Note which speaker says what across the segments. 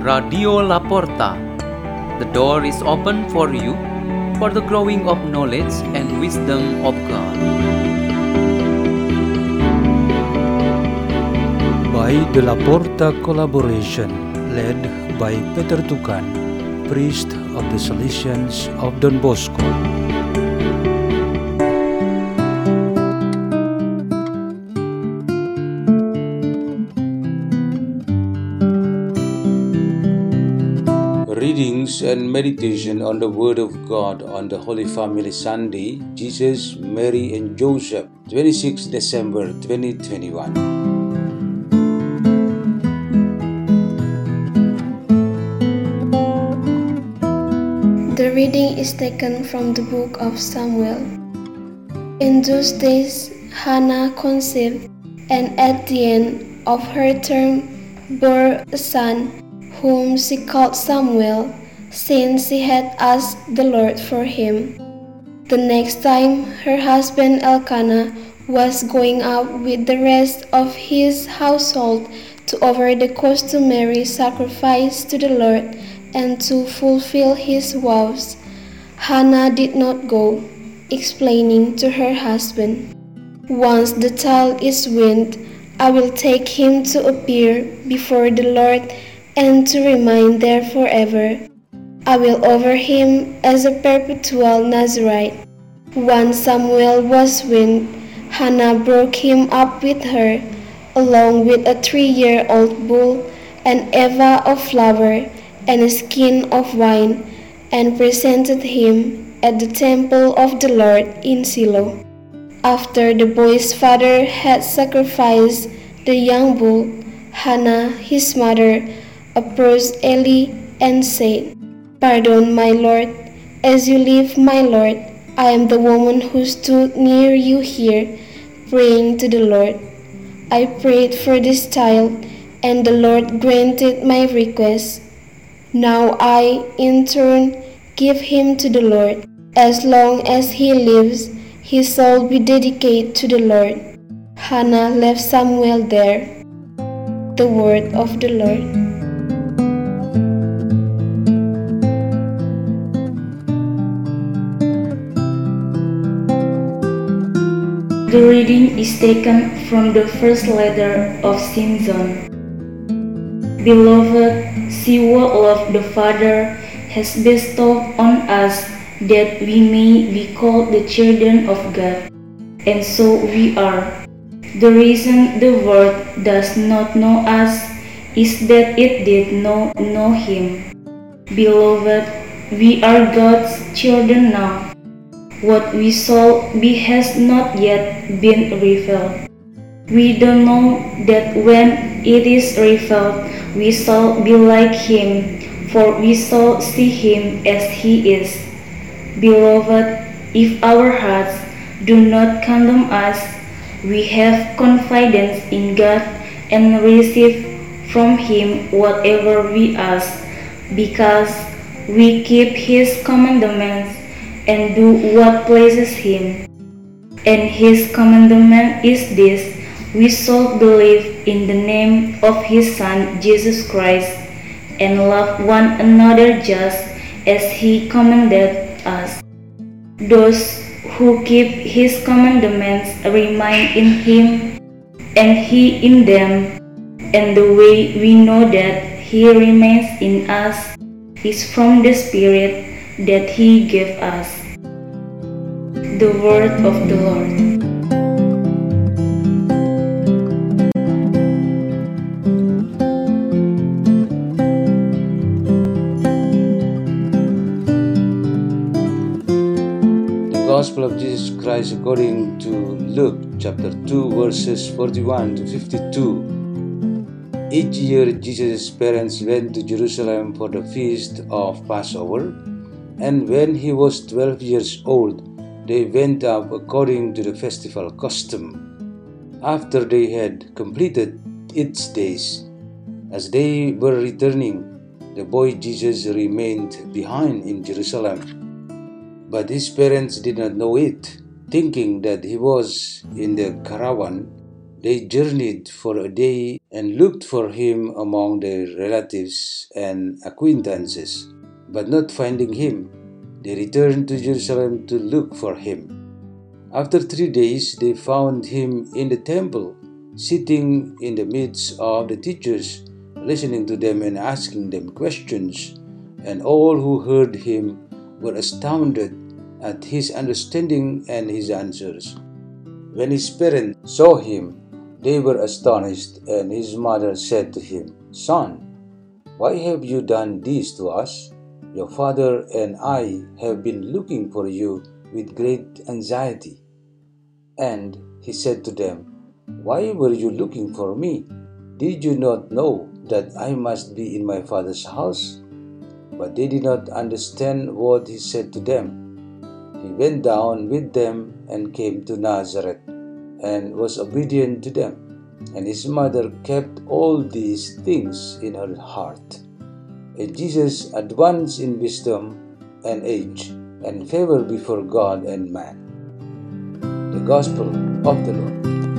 Speaker 1: Radio Laporta. The door is open for you for the growing of knowledge and wisdom of God.
Speaker 2: By the Laporta collaboration, led by Peter Tukan, priest of the Salesians of Don Bosco. Readings and meditation on the Word of God on the Holy Family Sunday, Jesus, Mary and Joseph, 26 December 2021.
Speaker 3: The reading is taken from the book of Samuel. In those days, Hannah conceived, and at the end of her term bore a son, whom she called Samuel, since she had asked the Lord for him. The next time her husband Elkanah was going out with the rest of his household to offer the customary sacrifice to the Lord and to fulfill his vows, Hannah did not go, explaining to her husband, "Once the child is weaned, I will take him to appear before the Lord and to remain there forever. I will offer him as a perpetual Nazirite." Once Samuel was weaned, Hannah broke him up with her, along with a 3-year-old bull, an ephah of flour, and a skin of wine, and presented him at the temple of the Lord in Shiloh. After the boy's father had sacrificed the young bull, Hannah, his mother, approached Eli and said, "Pardon, my Lord, as you live, my Lord, I am the woman who stood near you here, praying to the Lord. I prayed for this child, and the Lord granted my request. Now I, in turn, give him to the Lord. As long as he lives, his soul will be dedicated to the Lord." Hannah left Samuel there. The word of the Lord.
Speaker 4: The reading is taken from the first letter of St. John. Beloved, see what love the Father has bestowed on us, that we may be called the children of God, and so we are. The reason the world does not know us is that it did not know Him. Beloved, we are God's children now. What we shall be has not yet been revealed. We don't know that when it is revealed, we shall be like Him, for we shall see Him as He is. Beloved, if our hearts do not condemn us, we have confidence in God and receive from Him whatever we ask, because we keep His commandments and do what pleases Him. And His commandment is this: we shall believe in the name of His Son Jesus Christ, and love one another just as He commanded us. Those who keep His commandments remain in Him, and He in them, and the way we know that He remains in us is from the Spirit that He gave us. The word of the Lord.
Speaker 2: The Gospel of Jesus Christ according to Luke chapter 2 verses 41 to 52. Each year Jesus' parents went to Jerusalem for the feast of Passover, and when he was 12 years old, they went up according to the festival custom. After they had completed its days, as they were returning, the boy Jesus remained behind in Jerusalem. But his parents did not know it, thinking that he was in the caravan. They journeyed for a day and looked for him among their relatives and acquaintances, but not finding him, they returned to Jerusalem to look for him. After 3 days, they found him in the temple, sitting in the midst of the teachers, listening to them and asking them questions, and all who heard him were astounded at his understanding and his answers. When his parents saw him, they were astonished, and his mother said to him, "Son, why have you done this to us? Your father and I have been looking for you with great anxiety." And he said to them, "Why were you looking for me? Did you not know that I must be in my father's house?" But they did not understand what he said to them. He went down with them and came to Nazareth and was obedient to them. And his mother kept all these things in her heart. And Jesus advanced in wisdom and age and favor before God and man. The Gospel of the Lord.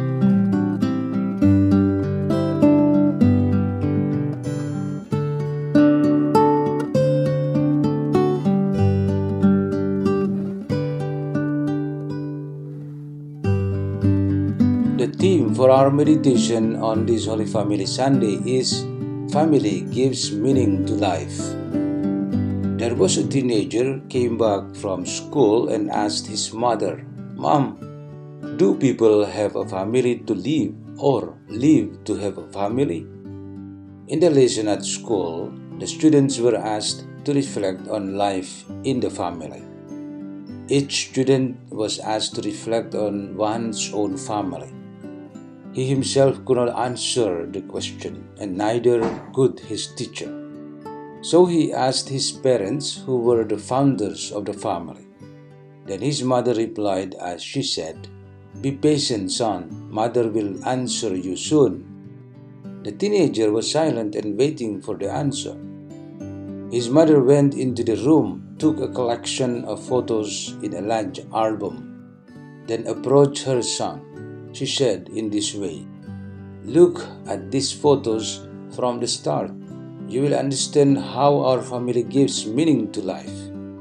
Speaker 2: The theme for our meditation on this Holy Family Sunday is Family Gives Meaning to Life. There was a teenager came back from school and asked his mother, "Mom, do people have a family to live or live to have a family?" In the lesson at school, the students were asked to reflect on life in the family. Each student was asked to reflect on one's own family. He himself could not answer the question, and neither could his teacher. So he asked his parents, who were the founders of the family. Then his mother replied as she said, "Be patient, son. Mother will answer you soon." The teenager was silent and waiting for the answer. His mother went into the room, took a collection of photos in a large album, then approached her son. She said in this way, "Look at these photos from the start. You will understand how our family gives meaning to life.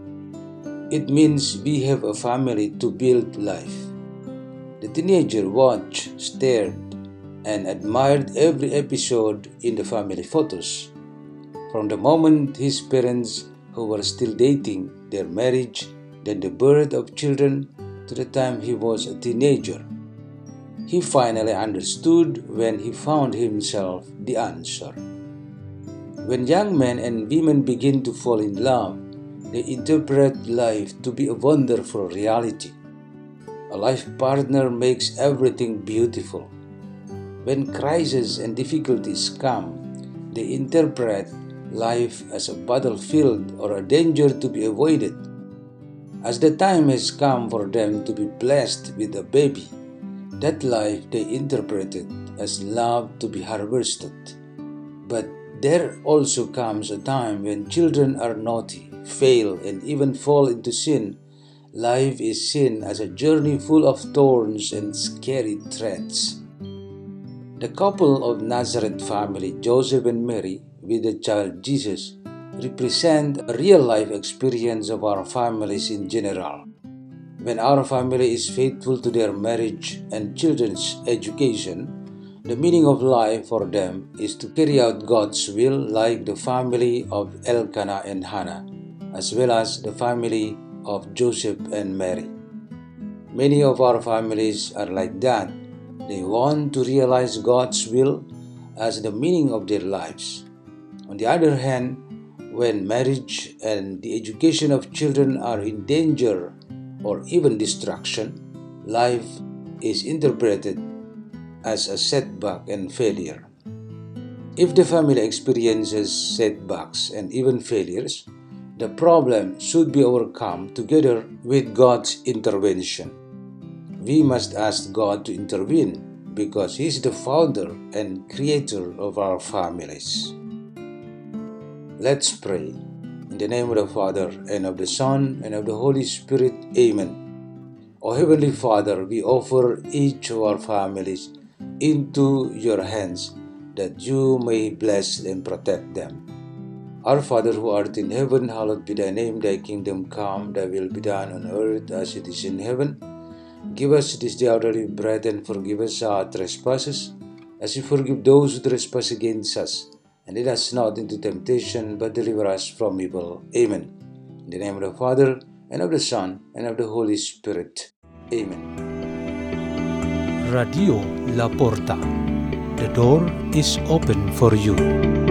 Speaker 2: It means we have a family to build life." The teenager watched, stared, and admired every episode in the family photos. From the moment his parents, who were still dating, their marriage, then the birth of children, to the time he was a teenager. He finally understood when he found himself the answer. When young men and women begin to fall in love, they interpret life to be a wonderful reality. A life partner makes everything beautiful. When crises and difficulties come, they interpret life as a battlefield or a danger to be avoided. As the time has come for them to be blessed with a baby, that life they interpreted as love to be harvested. But there also comes a time when children are naughty, fail, and even fall into sin. Life is seen as a journey full of thorns and scary threats. The couple of Nazareth family, Joseph and Mary, with the child Jesus, represent a real-life experience of our families in general. When our family is faithful to their marriage and children's education, the meaning of life for them is to carry out God's will, like the family of Elkanah and Hannah, as well as the family of Joseph and Mary. Many of our families are like that. They want to realize God's will as the meaning of their lives. On the other hand, when marriage and the education of children are in danger or even destruction, life is interpreted as a setback and failure. If the family experiences setbacks and even failures, the problem should be overcome together with God's intervention. We must ask God to intervene because He is the founder and creator of our families. Let's pray. In the name of the Father, and of the Son, and of the Holy Spirit. Amen. O Heavenly Father, we offer each of our families into your hands, that you may bless and protect them. Our Father who art in heaven, hallowed be thy name. Thy kingdom come, thy will be done on earth as it is in heaven. Give us this day our daily bread, and forgive us our trespasses, as we forgive those who trespass against us. And lead us not into temptation, but deliver us from evil. Amen. In the name of the Father, and of the Son, and of the Holy Spirit. Amen.
Speaker 5: Radio La Porta. The door is open for you.